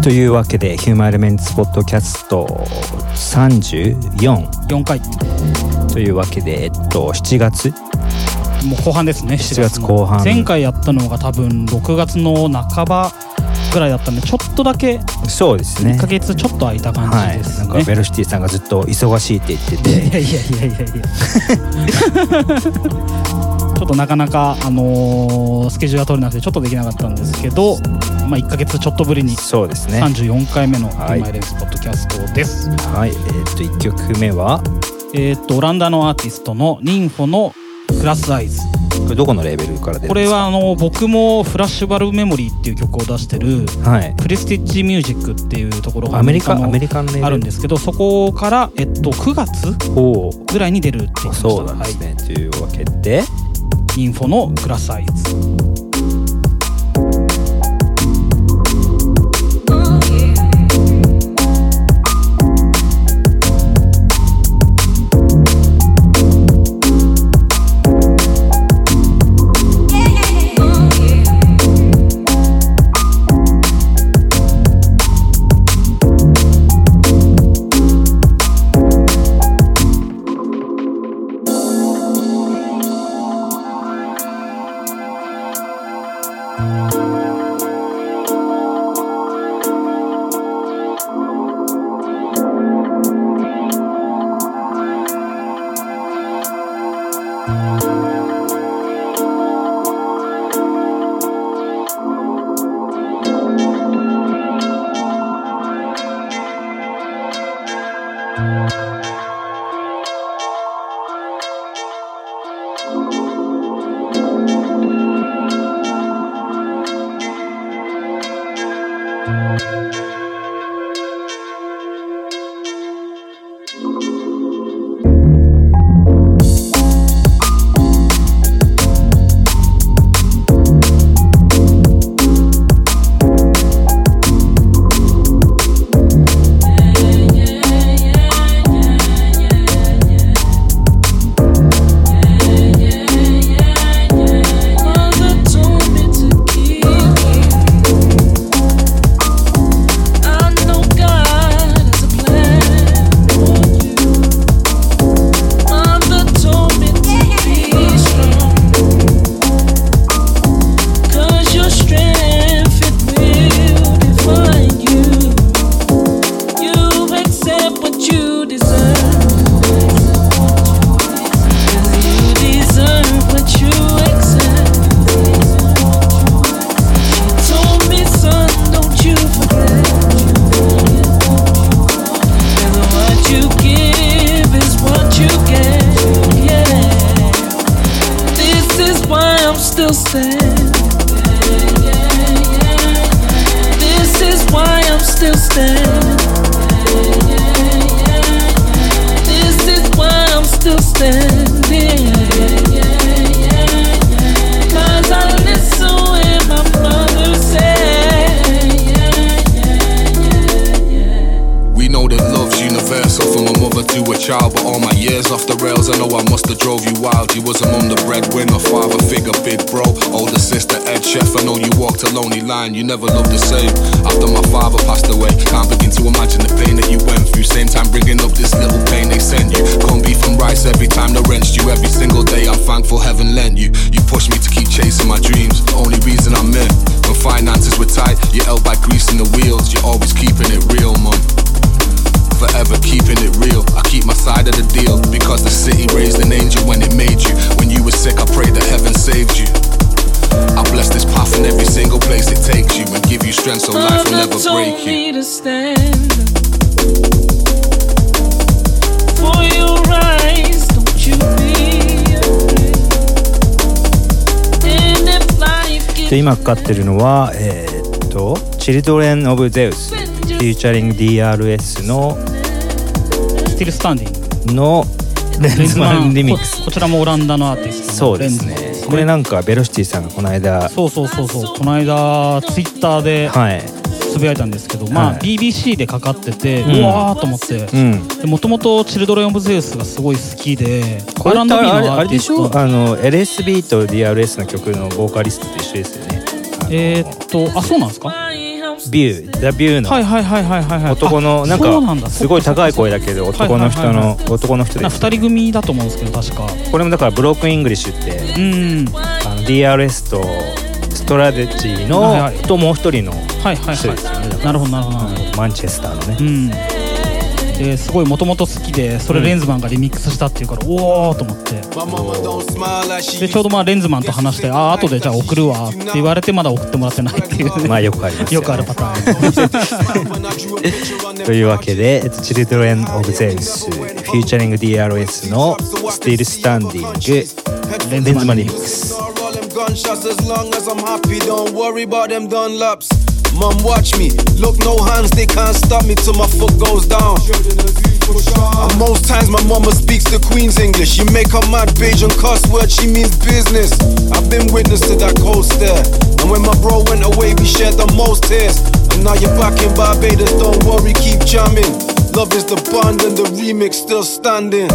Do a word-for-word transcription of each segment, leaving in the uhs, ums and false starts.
というわけでヒューマンエレメンツポッドキャストさんじゅうよんよんかいというわけで、えっとしちがつもう後半ですね。 しちがつこう半。 前回やったのが多分ろくがつの半ばぐらいだったんで、ちょっとだけそうですね、 いっかげつちょっと空いた感じですね。 はい、なんかベロシティさんがずっと忙しいって言ってて、 いやいやいやいやいやちょっとなかなか、あのー、スケジュールが取れなくてちょっとできなかったんですけど、まあ、いっかげつちょっとぶりにそうですね、 さんじゅうよんかいめのヒュはいーマンエレメンツポッドキャストです。 はい、えー、っといっきょくめはえー、っとオランダのアーティストのニンフォのグラスアイズ。 これどこのレーベルから出るんですか？ これはあの僕もフラッシュバルブメモリーっていう曲を出してる、はい、プレスティッジミュージックっていうところがアメリカアメリカンレーベルあるんですけど、そこから、えっと、くがつぐらいに出るって言ってました。 そうなんですね、はい、というわけでインフォのグラスアイズ。 You never loved the same after my father passed away. Can't begin to imagine the pain that you went through. Same time bringing up this little pain they send you. Corned beef and rice every time the rent's due. Every single day I'm thankful heaven lent you. You pushed me to keep chasing my dreams. The only reason I'm in. When finances were tight, you're held by greasing the wheels. You're always keeping it real, mum. Forever keeping it real. I keep my side of the deal because the city raised an angel when it made you. When you were sick, I prayed that heaven saved you. I bless this path in every single place it takes you and give you strength so life will never break you. Me to stand for your rights, don't you be afraid. And if life gives で今かかってるのはえー、っと Children of Zeus featuring ディーアールエス の Still Standing のレンズマンリミックス。 こ, こちらもオランダのアーティストのそうですね。これなんかベロシティさんがこの間そうそうそうそうこの間ツイッターでつぶやいたんですけど、はい、まあ ビービーシー でかかってて、うん、うわーと思って、うん、もともとチルドレン・オブ・ゼウスがすごい好きで、 これってあれ、あれでしょ、あの エルエスビー と ディーアールエス の曲のボーカリストと一緒ですよね。 えー、っとあそうなんですか。 ビューザビューの男のなんかすごい高い声だけど男の人の男の人です。 ふたり組だと思うんですけど確か。 これもだからブロークンイングリッシュってうんあの ディーアールエス とストラテジーのともう一人の人ですよね。 なるほどなるほど。 マンチェスターのね。 うんですごいもともと好きでそれレンズマンがリミックスしたっていうから、うん、おーと思ってでちょうどまあレンズマンと話してあ後でじゃあ送るわって言われてまだ送ってもらってないっていう、ね、 まあよくありますよね、よくあるパターンというわけでChildren of Zeus Featuring ディーアールエス の Still Standing レンズマンリミックス。 Mum, watch me. Look, no hands, they can't stop me till my foot goes down. And most times my mama speaks the Queen's English. She make her mad page and cuss words, she means business. I've been witness to that cold stare. And when my bro went away, we shared the most tears. And now you're back in Barbados, don't worry, keep jamming. Love is the bond and the remix still standing.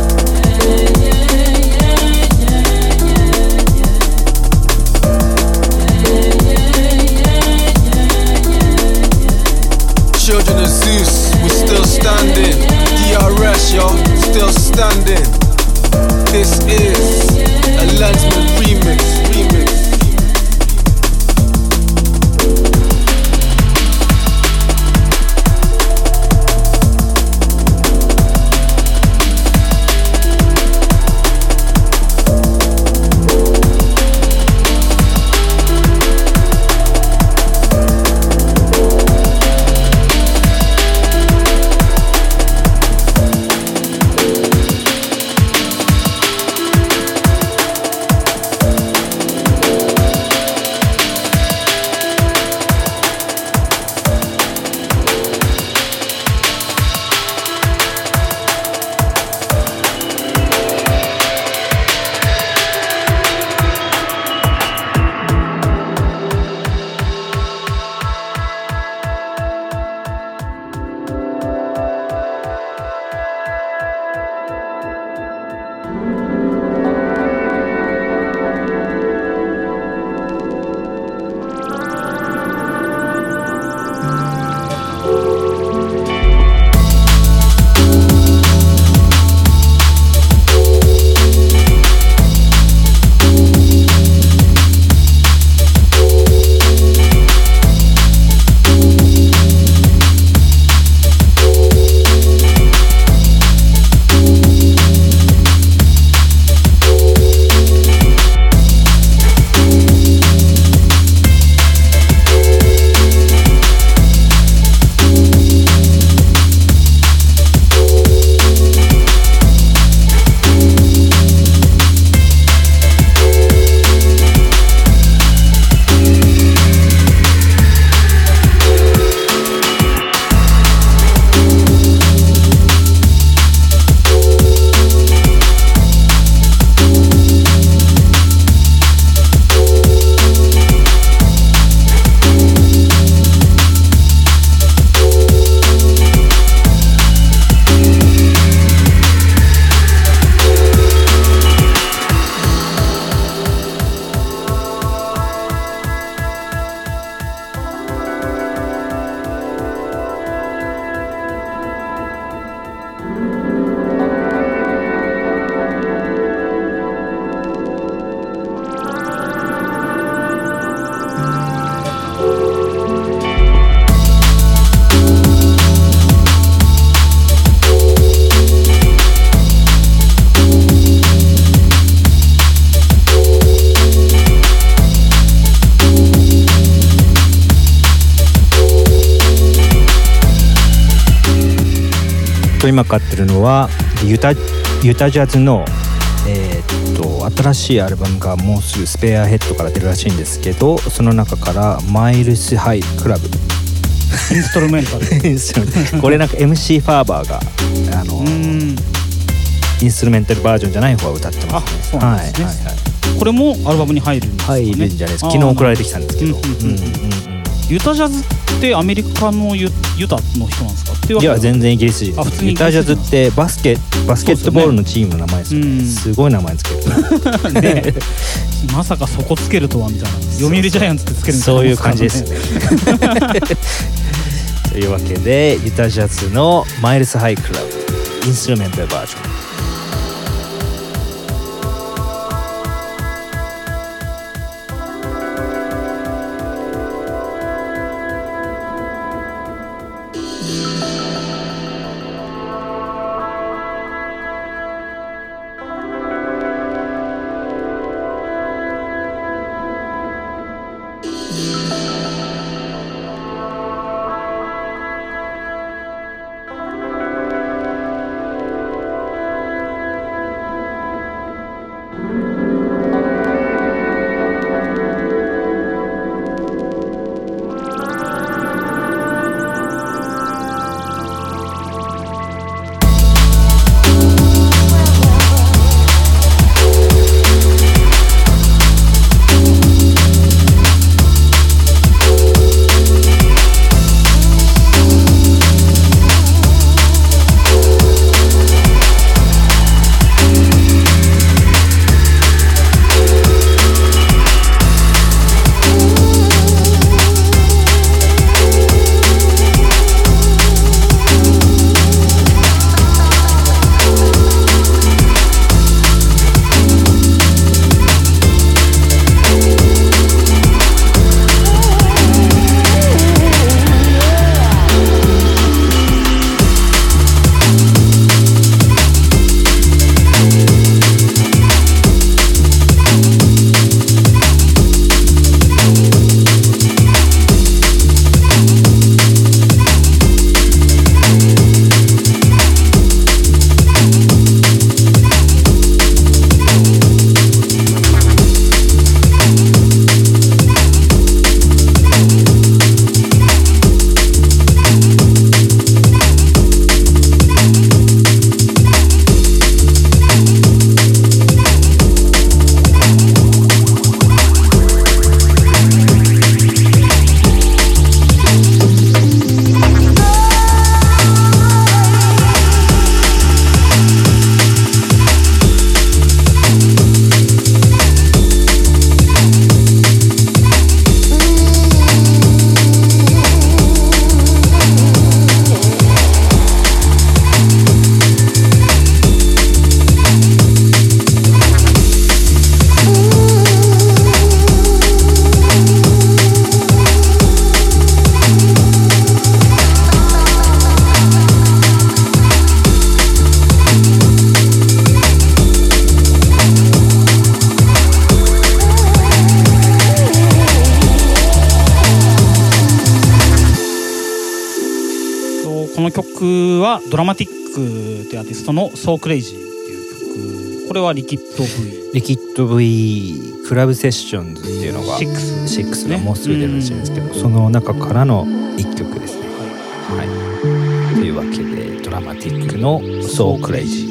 Children of Zeus, we're still standing. D R S, yo, still standing. This is a Lensman remix, remix. と今買ってるのはユタ、ユタジャズの、えー、っと新しいアルバムがもうすぐスペアヘッドから出るらしいんですけど、その中からマイルスハイクラブインストルメンタルこれなんか エムシー ファーバーがあのインストルメンタルバージョンじゃない方は歌ってますね。 そうなんですね、はいはいはい、これもアルバムに入るんですかね。 入るんじゃないですか。昨日送られてきたんですけど、うんうんうんうん、 ユタジャズってアメリカの ユ, ユタの人なんですかっていうわけいや全然イギリス人。ユタジャズってバスケバスケットボールのチームの名前ですよね。すごい名前つけるねまさかそこつけるとはみたいな。読売ジャイアンツってつけるみたいな、 そういう感じですねというわけでユタジャズのマイルスハイクラブインストゥルメンタルバージョン。 この曲はドラマティックってアーティストのSo Crazyっていう曲。これはリキッド V リキッド V クラブセッションズっていうのがシックスシックスがもうすぐ出るらしいんですけど、その中からの一曲ですね。はい、というわけでドラマティックの So Crazy。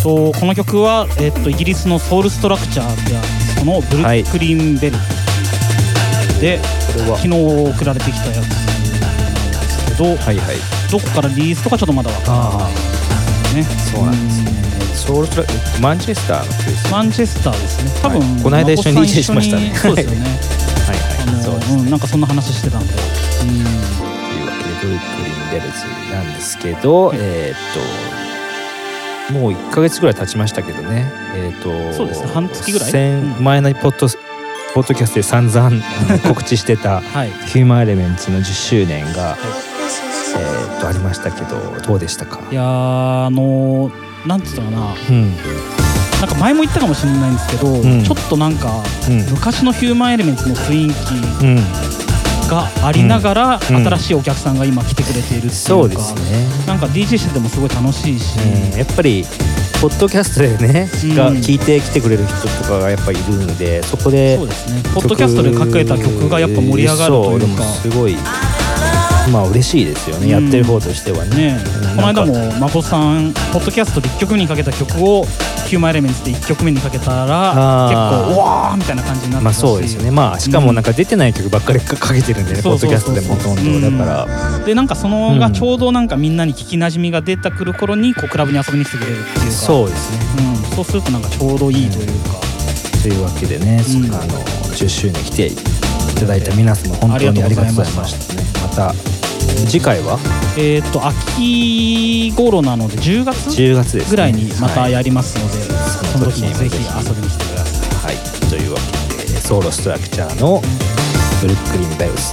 とこの曲は、えー、とイギリスのソウルストラクチャーであるそのブルックリンベルで、はい、昨日送られてきたやつなんですけど、はいはい、どこからリリースとかちょっとまだ分からないですね。 そうなんですね。ソウルストラマンチェスターの曲ですね。 マンチェスターですね。多分、はい、 この間一緒に ディージェー しましたね。 そうですよね。はいはい。あのそうですね、うん、なんかそんな話してたんで。うん。というわけでブルックリンベルズなんですけど、はい、えー、っともういっかげつぐらい経ちましたけどね。えー、っとそうですね。半月ぐらい。 先前のポッドポッドキャストで散々告知してたヒューマンエレメンツのじゅっしゅうねんが、はい、えー、っとありましたけどどうでしたか？ いやーあのー。なんて言ったかな、うん、なんか前も言ったかもしれないんですけど、うん、ちょっとなんか、うん、昔のヒューマンエレメンツの雰囲気がありながら、うん、新しいお客さんが今来てくれているっていうか、 そうですね、 なんか ディージェー しててもすごい楽しいし、 うん、やっぱりポッドキャストでね、うん、が聞いてきてくれる人とかがやっぱりいるので、そこでそうですね、ポッドキャストでかけた曲がやっぱ盛り上がるというか、そうでもすごいまあ嬉しいですよね、うん、やってる方としては ね, ねこの間も誠さんポッドキャストでいっきょくめにかけた曲をヒューマンエレメンツでいっきょくめにかけたら結構うわーみたいな感じになってたし、 まあそうですよね、まあしかもなんか出てない曲ばっかりかけてるんでね、うん、ポッドキャストでもほとんど、うん、だからでなんかそのがちょうどなんかみんなに聞きなじみが出てくる頃にこうクラブに遊びに来てくれるっていうか、 そうですね、 うん、そうするとなんかちょうどいいというか、 うん、というわけでね、うん、あのじゅっしゅうねん来ていただいた皆様本当にありがとうございましたね。また次回はえー、と秋頃なのでじゅうがつじゅうがつです、ね、 ぐらいにまたやりますので、はい、その時にぜひ遊びに来てください。 はい、というわけでソウルストラクチャーのブルックリンベルズ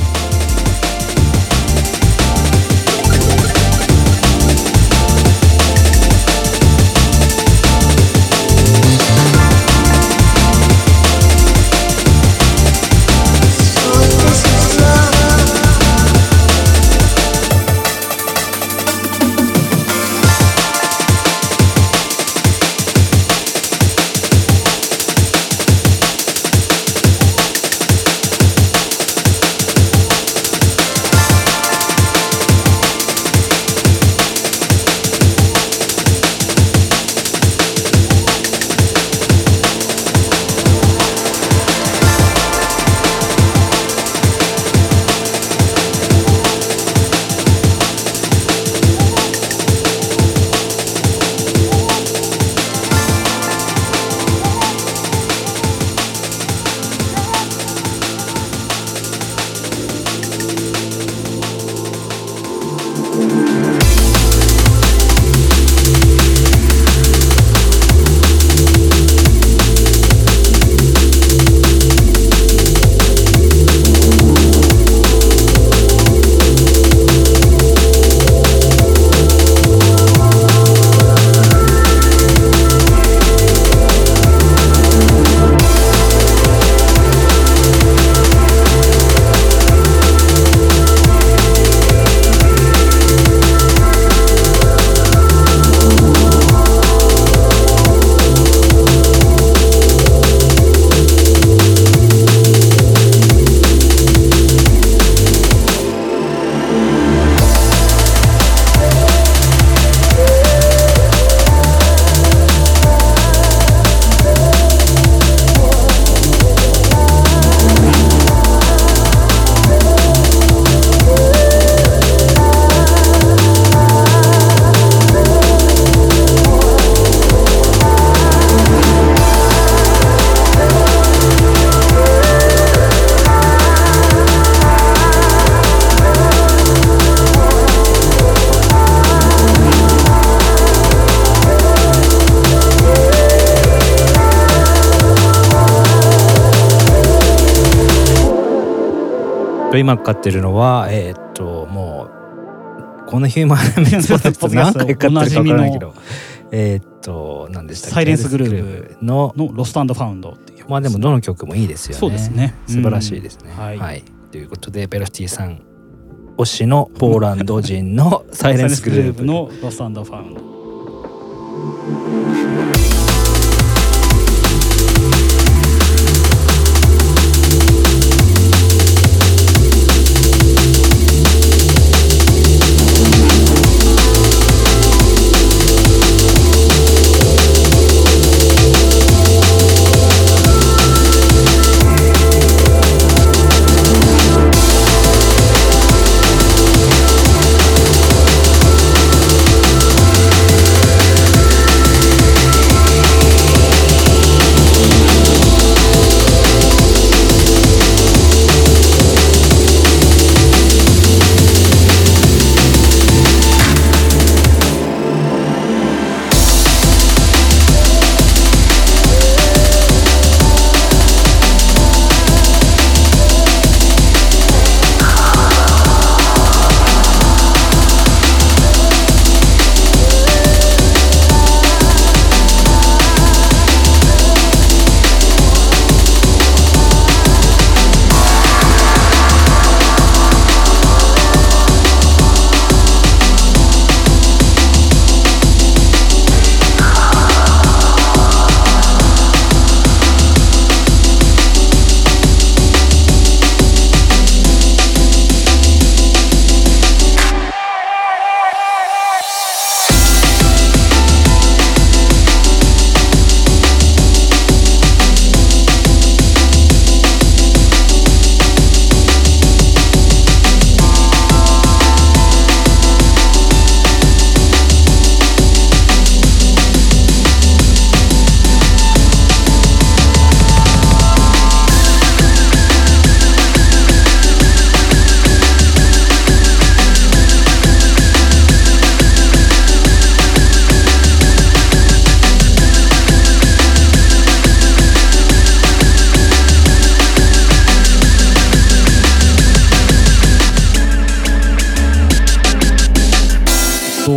今かかってるのはえー、っともうこのヒューマンエレメンツポッドキャスト何回かかってるか分からないけどえー、っと何でしたっけ、 サイレンスグルーヴのロスト&ファウンドっていう曲、 まあでもどの曲もいいですよね。 そうですね、 素晴らしいですね、うん、はい、はい、ということでベロシティさん推しのポーランド人のサイレンスグルーヴのロスト&ファウンド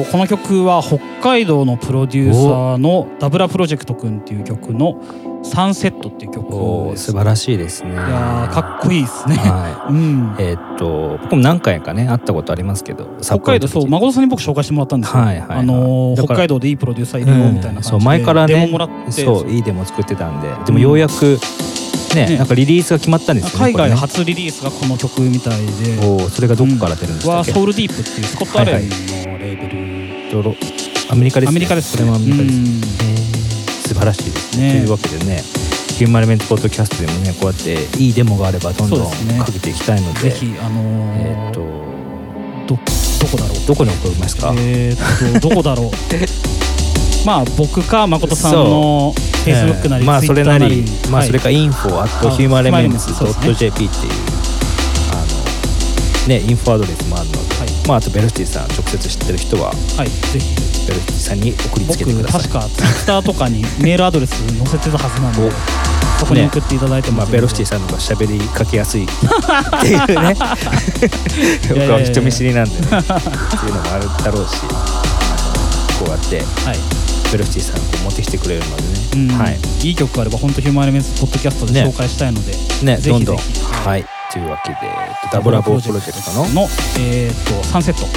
この曲は北海道のプロデューサーのダブラプロジェクトくんっていう曲のサンセットっていう曲です。 素晴らしいですね。いやかっこいいですね、 はいうん、えー、っと僕も何回かね会ったことありますけど、 北海道そう誠さんに僕紹介してもらったんですよ、はいはいはい、あのー、北海道でいいプロデューサーいるよみたいな感じで、うん、そう前からねデモもらって、 そういいデモ作ってたんで、でもようやく、うんねね、なんかリリースが決まったんですよね。 海外初リリースがこの曲みたいで、 おそれがどこから出るんですか。 はソウルディープっていうスコットアレンのレーベル、はいはい、 アメリカです、ね、 アメリカです。 これもアメリカです、ね、素晴らしいですね。というわけでね、ヒューマンエレメントポッドキャストでもね、こうやっていいデモがあればどんどんかけていきたいので、 ぜひあのー、 えっとどどこだろうどこに送りますか。 えー、っとどこだろうまあ僕か誠さんのフェイスブックなり、 えー、まあそれなり、まあそれかインフォアットヒューマンエレメンツドット ジェーピー っていうあのねインフォアドレスもあるので、はい、まああとベロシティさん直接知ってる人は、 はい、ぜひベロシティさんに送りつけてください。 僕確かツイッターとかにメールアドレス載せてたはずなんでそこに送っていただいても、ね、 まあベロシティさんの方が喋りかけやすいっていうね僕は人見知りなんでねっていうのもあるだろうし、こうやって、はいベロシティさんこう持ってきてくれるのでね、 うんはい、いい曲があれば本当ヒューマンエレメンツポッドキャストで紹介したいので、 ねね、ぜひぜひどんどんはいというわけでダブラボープロジェクトのの、えー、とサンセット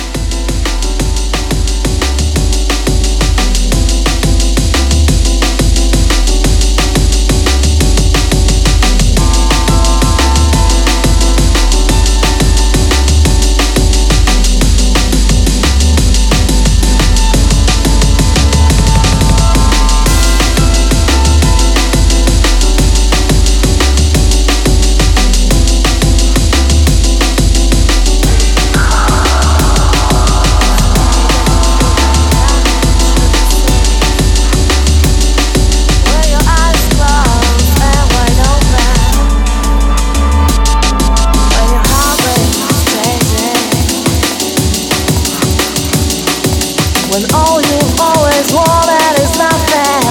When all you always wanted is nothing.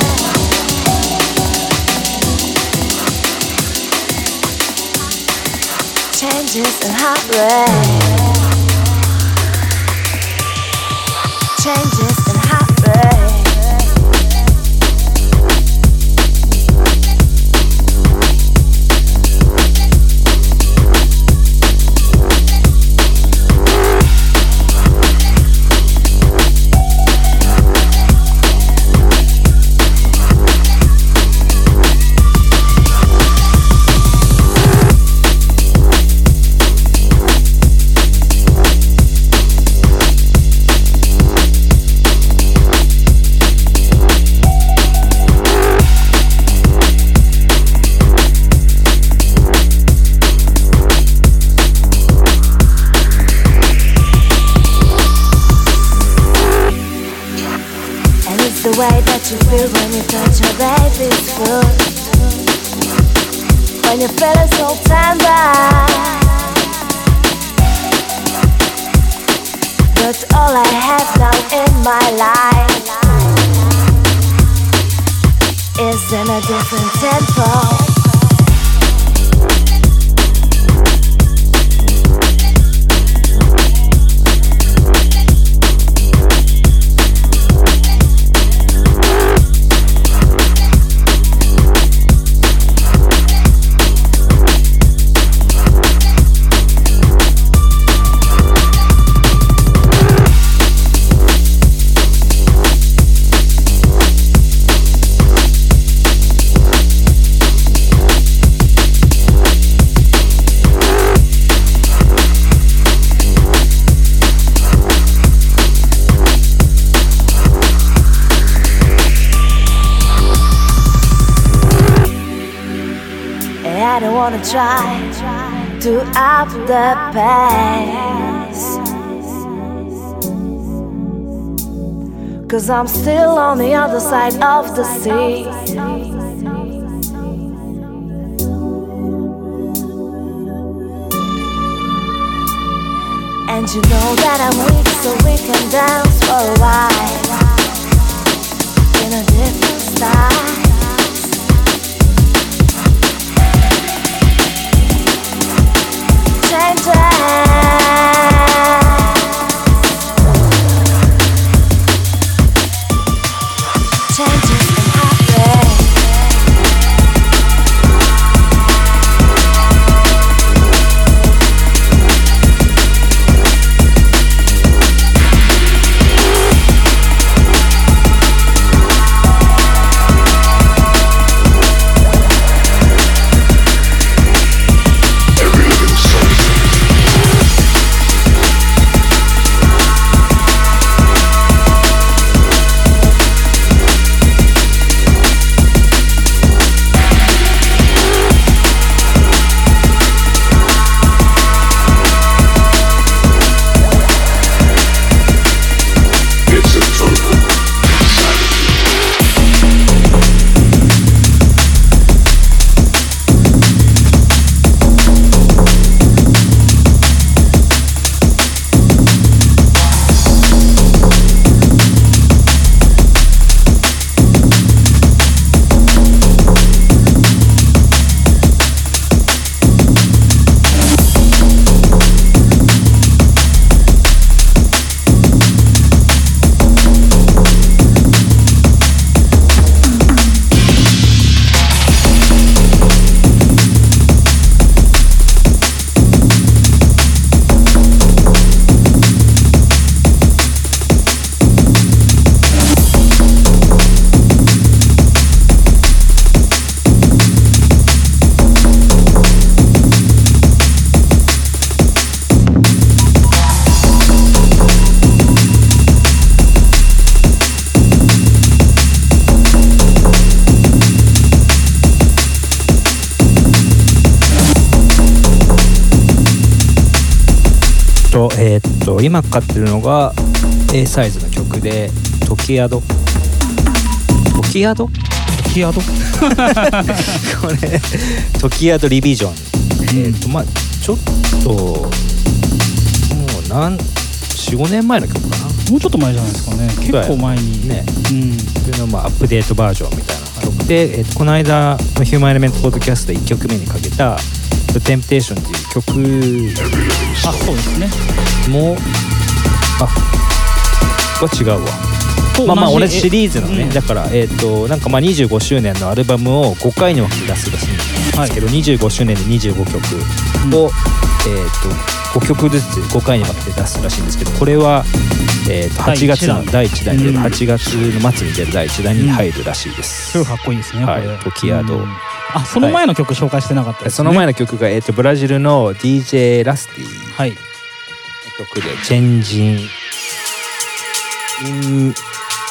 Changes and heartbreak. Changes and heartbreak. The way that you feel when you touch your baby's foot, when you feel it so tender. But all I have now in my life is in a different tempo. I don't wanna try to up the pace, 'cause I'm still on the other side of the sea. And you know that I'm weak, so we can dance for a while in a different style. Changes と今かかってるのが A サイズの曲でトキヤドトキヤドトキヤドこれトキヤドリビジョン、うん、えーとまあちょっともうなん よん,ご 年前の曲かな。 もうちょっと前じゃないですかね。結構前にね、 うん、 それのまあアップデートバージョンみたいな曲で、えー、とこの間のヒューマンエレメントポッドキャストでいっきょくめにかけたテンプテーションっていう曲あそうですねもうあは違うわまあまあ同じシリーズのね、うん、だからえっ、ー、となんかまあにじゅうごしゅうねんのアルバムをごかいに分けて出すらしいんですけど、はい、にじゅうごしゅうねんでにじゅうごきょくを、うん、えっ、ー、とごきょくずつごかいに分けて出すらしいんですけど、これはえー、とはちがつのだいいちだんに出る、はちがつの末に出るだいいちだんに入るらしいです。 すごいかっこいいですね、 はい、トキヤド、うん、 あその前の曲紹介してなかったですね。 その前の曲が、えー、とブラジルの ディージェー ラスティの曲で、はい、チェンジンイン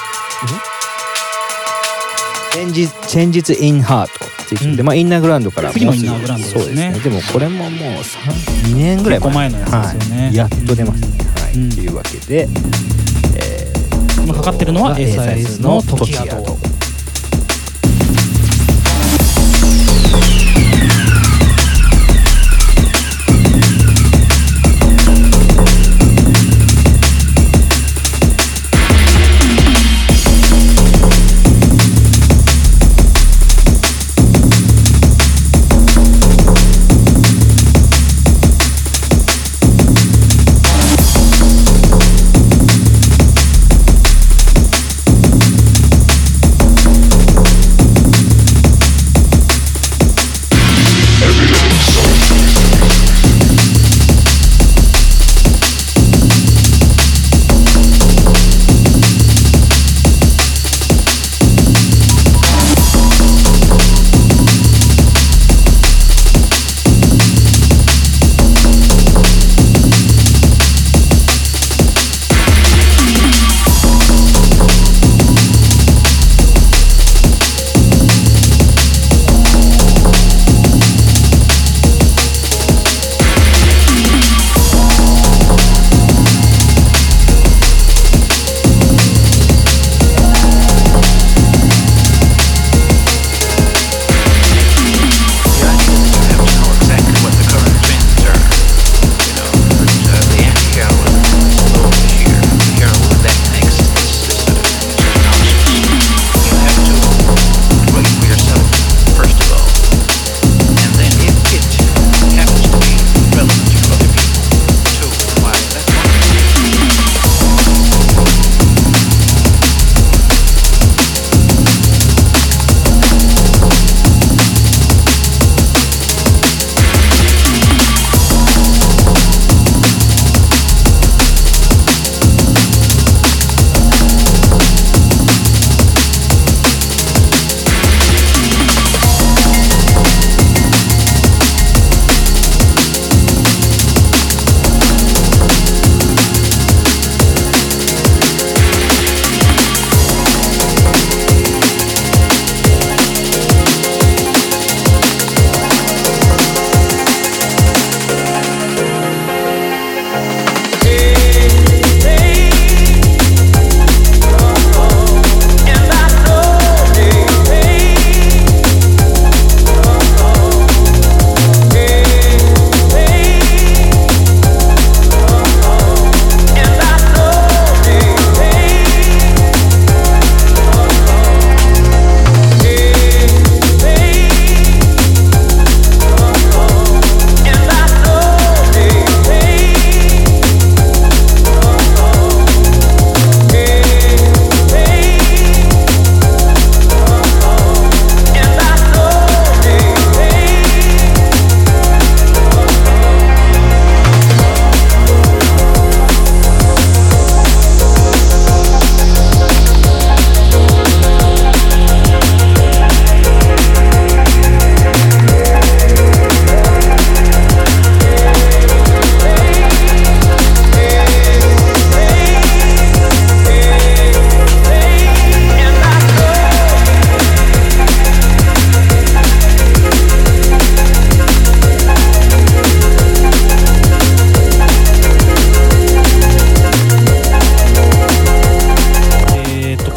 チェンジチェンジズインハートっていう曲で、うん、まあインナーグラウンドから次のインナーグラウンドですね。 そうですね。でもこれももうさん、にねんぐらい前、結構前のやつですよね、 はい、やっと出ますね、うんはい、というわけで、えー、 今かかってるのは A サイズのトキヤド。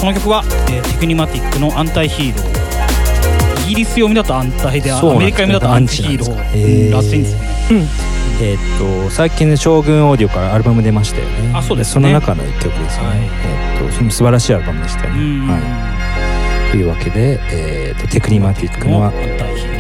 この曲は、えー、テクニマティックのアンタイヒーロー、イギリス読みだと安泰で、アメリカ読みだとアンチヒーローらしいんですよね。うん、 えー、っと最近の将軍オーディオからアルバム出ましたよね。 あ、そうですね。 その中の一曲ですよね。はい、えー、っとその素晴らしいアルバムでしたよね。はい、というわけで、えー、っとテクニマティックのアンタイヒーロー。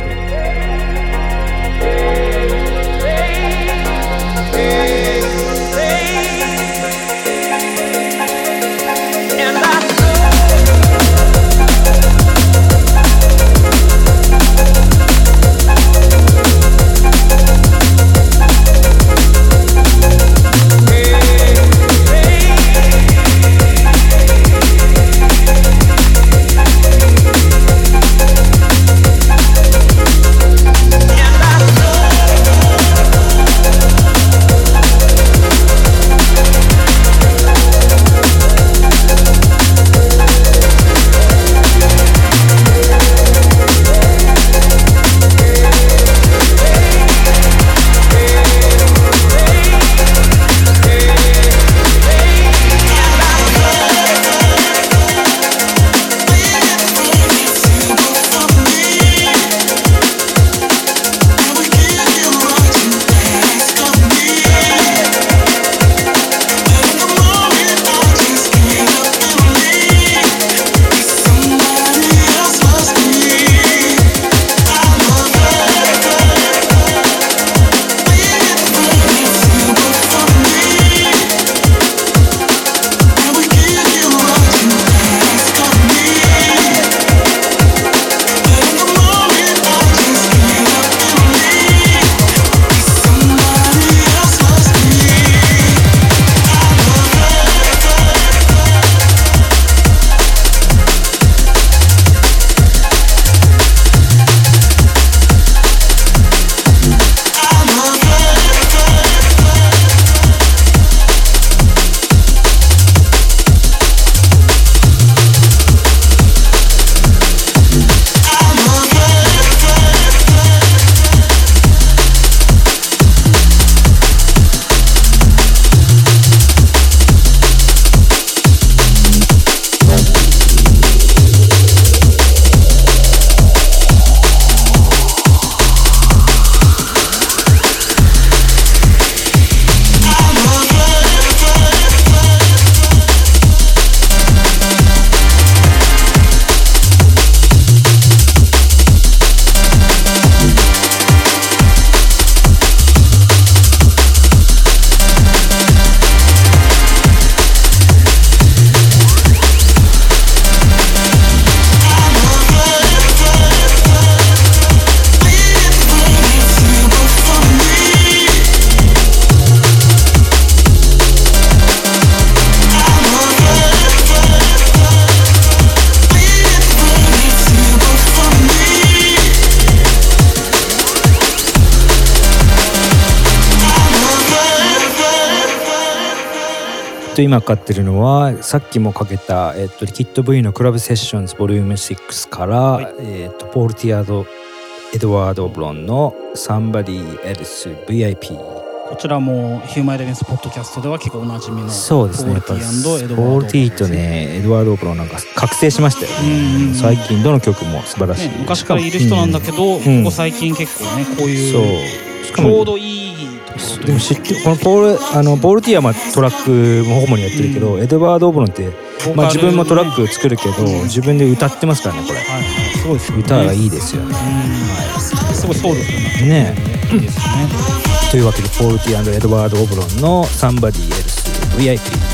今かかってるのはさっきもかけた、えっと、リキッド V のクラブセッションズボリュームシックスから、はい、えっと、ポール・ティアード・エドワード・オブロンの Somebody Else ブイアイピー、 こちらもヒューマンエレメンツポッドキャストでは結構おなじみのそうですね、 ポール・ティー&エドワード・ポール・ティーとねエドワード・オブロンなんか覚醒しましたよね、うん、最近どの曲も素晴らしい、ね、 昔からいる人なんだけど、うん、ここ最近結構ねこういうちょうどいいでも知ってこのポールあのポール・ティアはトラックも主にやってるけど、うん、エドワード・オブロンって、まあ、自分もトラック作るけど、うん、自分で歌ってますからねこれ、はい、すごいですね、歌がいいですよね、うん、 はい、すごいソウルフルな曲ね、 いいですね。 というわけでポール・ティア&エドワード・オブロンの Somebody Else ブイアイピー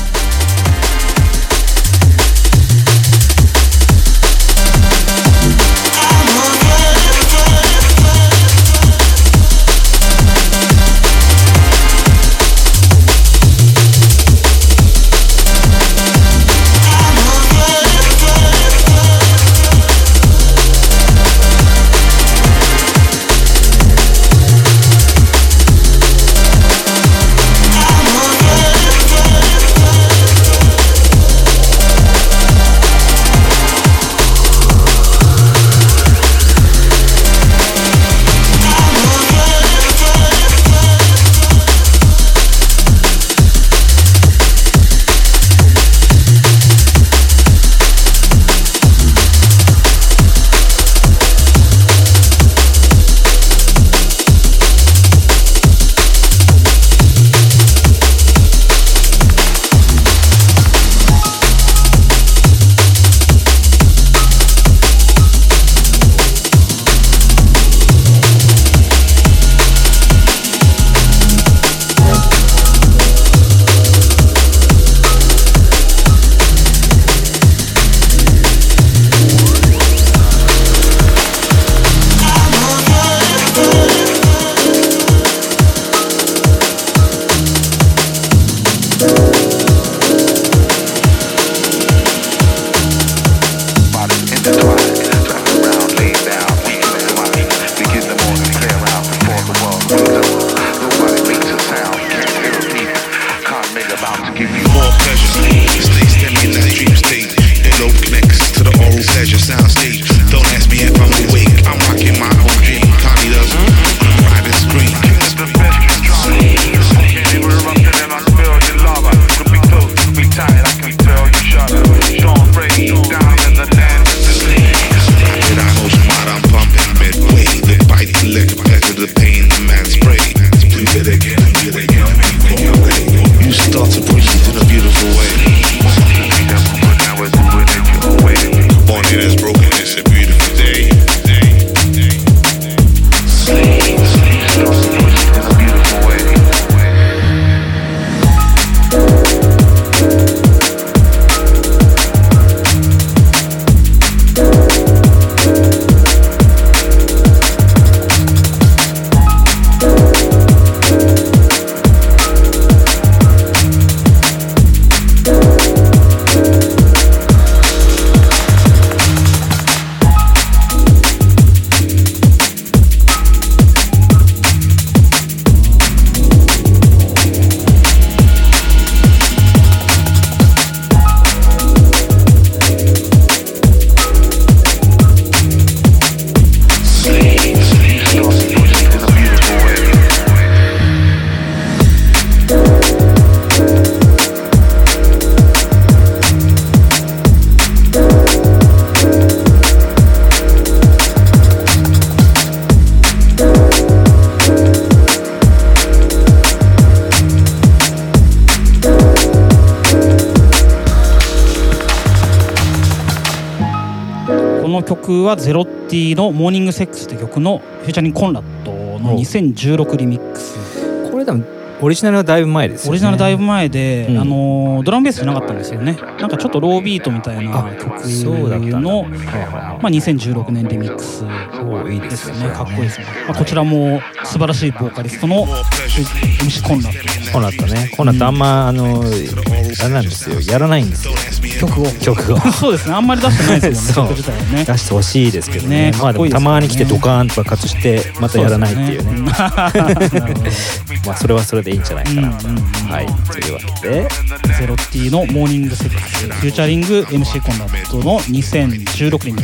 この曲はゼロティのモーニングセックスって曲のフューチャリングコンラッドのにせんじゅうろくリミックス。 これ多分オリジナルはだいぶ前ですよね。 オリジナルだいぶ前で、うん、あのドラムベースじゃなかったんですよね。なんかちょっとロービートみたいな曲のまあ、にせんじゅうろくねんリミックスですね。かっこいいですね。まあ、こちらも素晴らしいボーカリストの エムシー コンラッド。 コンラッドね。コンラッドあんま、うん、あのあれなんですよ。やらないんですよ。 曲を曲をそうですね。あんまり出してないですもんね。曲自体はね。 出してほしいですけどね。ねまあでもたまに来てドカーンと爆発してまたやらないっていうね。まあそれはそれでいいんじゃないかな。うんうんうん、はい。というわけでゼロティのモーニングセックスフューチャリング エムシー コンラッドのにせんじゅうろくねんです。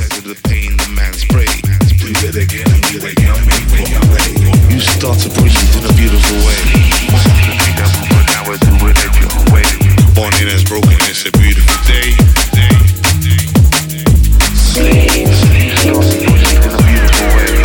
You start to push it in a beautiful way. Something we never but now we're doing it your way. Morning has broken, it's a beautiful day. Sleep, sleep, start to push it in a beautiful way.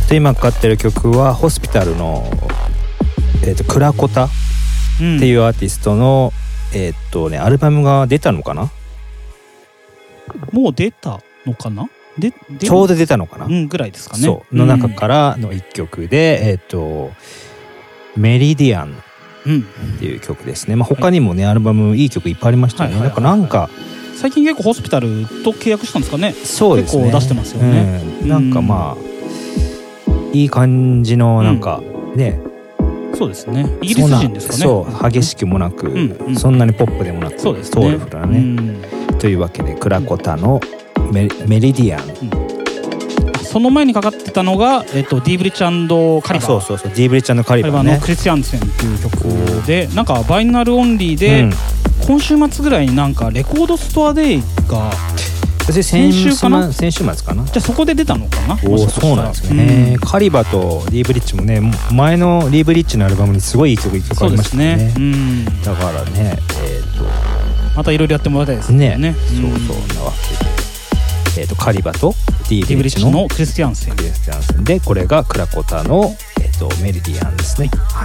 と今かかってる曲はホスピタルの、えー、とクラコタっていうアーティストの、うん、えっ、ー、とねアルバムが出たのかな。 もう出たのかな。でちょうど出たのかな、 うん、ぐらいですかね。 そうの中からのいっきょくで、うん、えっ、ー、とメリディアンっていう曲ですね、まあ、他にもね、はい、アルバムいい曲いっぱいありましたよね、はいはいはいはい、なんか最近結構ホスピタルと契約したんですかね。 そうですね、 結構出してますよね、 うん、なんかまあ、うん、いい感じのなんか、うん、ね、 そうですね、イギリス人ですかね。 そう激しくもなく、うんうん、そんなにポップでもなく、そうですね、ソウルフルなね、うん、というわけでクラコタのメ、メリディアン、 うん、その前にかかってたのが、えっと、ディーブリッチ&カリバー。 そうそうそう、ディーブリッチ&カリバーね、 のクリスティアンセンっていう曲で、なんかバイナルオンリーで、うん、今週末ぐらいになんかレコードストアデイが先週かな、 先週末かな。 じゃあそこで出たのかな。 おお、そうなんですね、うん、カリバとディーブリッチもね、前のディーブリッチのアルバムにすごいいい曲いっきょくありましたね。そうですね、うん、だからね、えー、とまたいろいろやってもらいたいですね。ね、 そうそうなわけで、えー、とカリバとディーブリッチ の, のクリスティアンセンクリスティアンセンで、これがクラコタの、えー、とメリディアンですね。はい、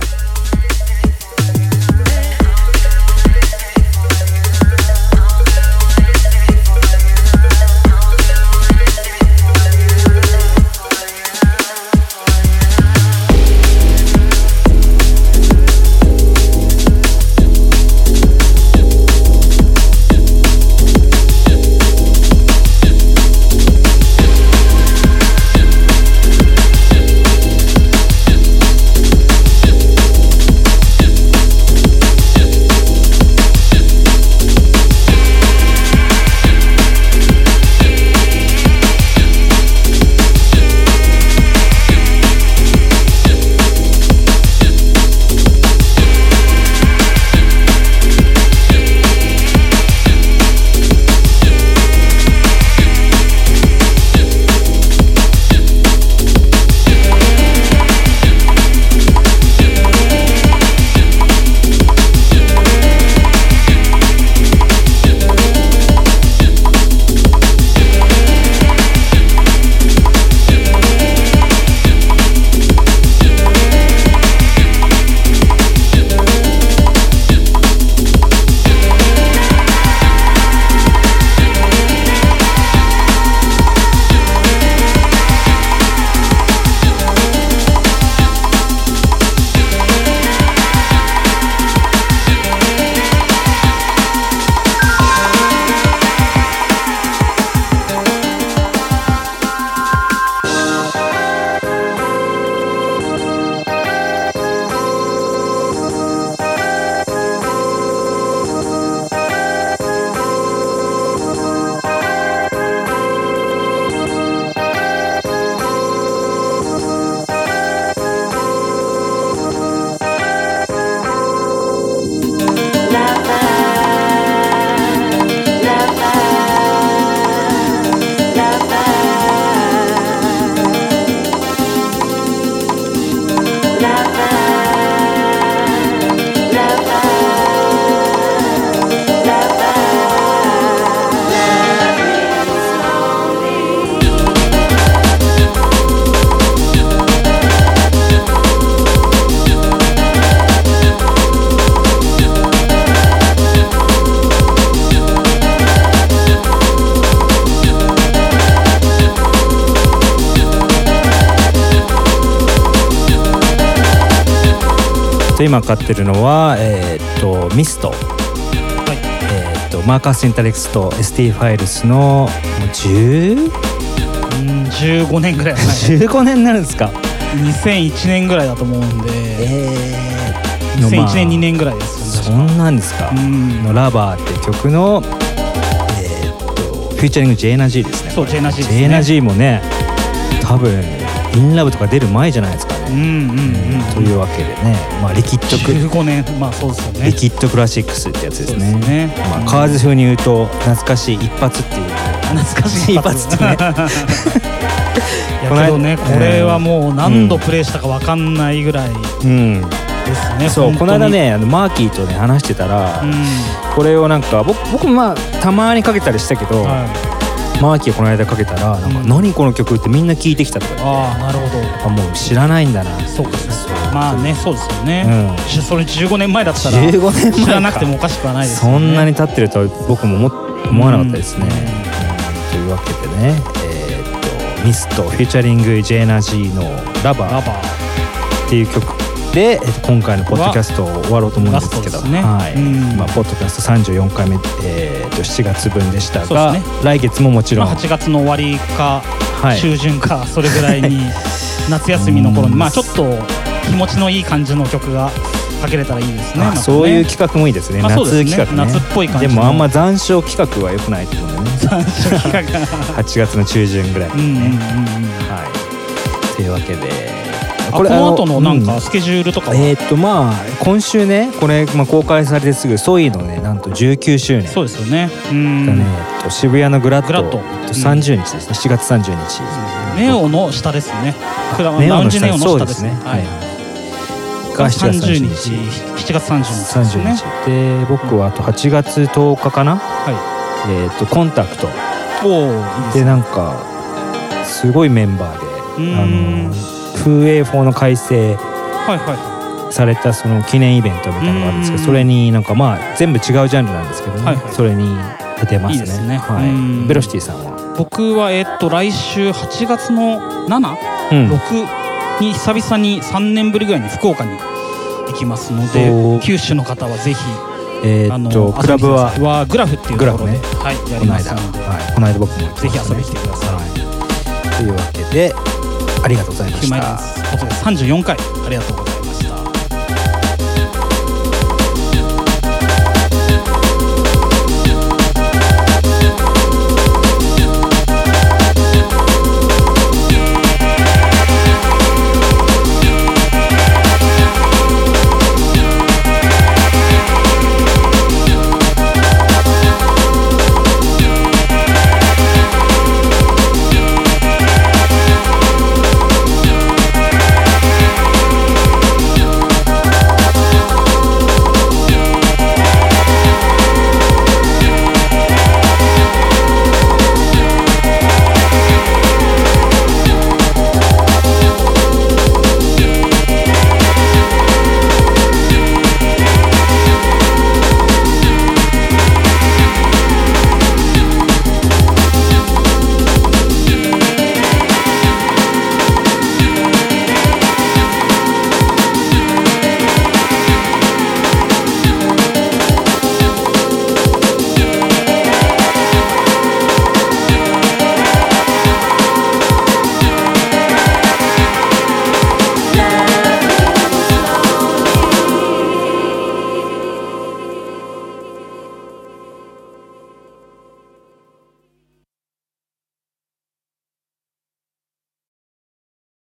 今買ってるのは、えー、っとミスト、はい、えー、っとマーカス・シンタレックスと エスティー ファイルスのもうじゅう、 うんじゅうごねんぐらい、 じゅうごねんになるんですか。 にせんいちねんぐらいだと思うんで、えー、にせんいちねんにねんぐらいですよね。そんなんですか。のラバーって曲の、えー、っとフューチャリングジェーナジーですね。 そうジェーナジーですね。 ジェーナジーもね、多分インラブとか出る前じゃないですかね。うんうんうんうん、というわけでね、まあリキッドじゅうごねん、まあそうですよね。 リキッドクラシックスってやつですね。そうですね。まあ、うん、カーズ風に言うと懐かしい一発っていう。 懐かしい一発ってね。いやけどね、これはもう何度プレイしたか分かんないぐらいですね。 そう、この間ね、あのマーキーとね話してたら、うん、これをなんか僕僕まあたまにかけたりしたけど、はい、 マーキーがこの間かけたらなんか、うん、何この曲ってみんな聞いてきたとか言って、 ああなるほど、 やっぱもう知らないんだな。 そうかそうか、まあねそうですよね、うん、それじゅうごねんまえだったらじゅうごねんまえ知らなくてもおかしくはないですよね。 そんなに経ってるとは僕も思わなかったですね、うんうん、というわけでね、えー、っとミストフューチャリングジェーナジーのラバーっていう曲で今回のポッドキャストを終わろうと思うんですけど、ね、はい、まあ、ポッドキャストさんじゅうよんかいめ、えー、としちがつぶんでしたが、ね、来月ももちろん、 まあ、はちがつの終わりか、はい、中旬かそれぐらいに夏休みの頃にまあちょっと気持ちのいい感じの曲がかけれたらいいですね。 あ、そういう企画もいいですね、まあ、夏企画ね、 夏っぽい感じでもあんま残暑企画は良くないと思うね残暑企画はちがつの中旬ぐらいにね、うんうんうん、はい、というわけでこれこの後のなんかスケジュールとかは、 うん、えー、っとまあ今週ねこれ、まあ、公開されてすぐソイのねなんとじゅうきゅうしゅうねん、 そうですよね、うんがね、えっと、渋谷のグラッドさんじゅうにちですね、しちがつさんじゅうにち、 うん、ネオの下ですね、 ネオの下、そうですね、 はい、がしちがつさんじゅうにち、しちがつさんじゅうにちですね。 で僕はあとはちがつとおかかな、はい、えー、っとコンタクト、 おー、いいですね、 でなんかすごいメンバーで、あの風営法の改正されたその記念イベントみたいなのがあるんですけど、それになんかまあ全部違うジャンルなんですけどね、はいはい、それに出てますね。いいですね、はい、ベロシティさんは？ 僕はえっと来週はちがつのなな、うん、ろくに久々にさんねんぶりぐらいに福岡に行きますので、九州の方はぜひ、 えー、っとクラブははグラフっていうところで、ね、はい、やりますので、 はい、この間僕も行ってぜひ遊びに来てください、はい、 というわけでありがとうございました。 ヒューマイランスさんじゅうよんかいありがとうございます。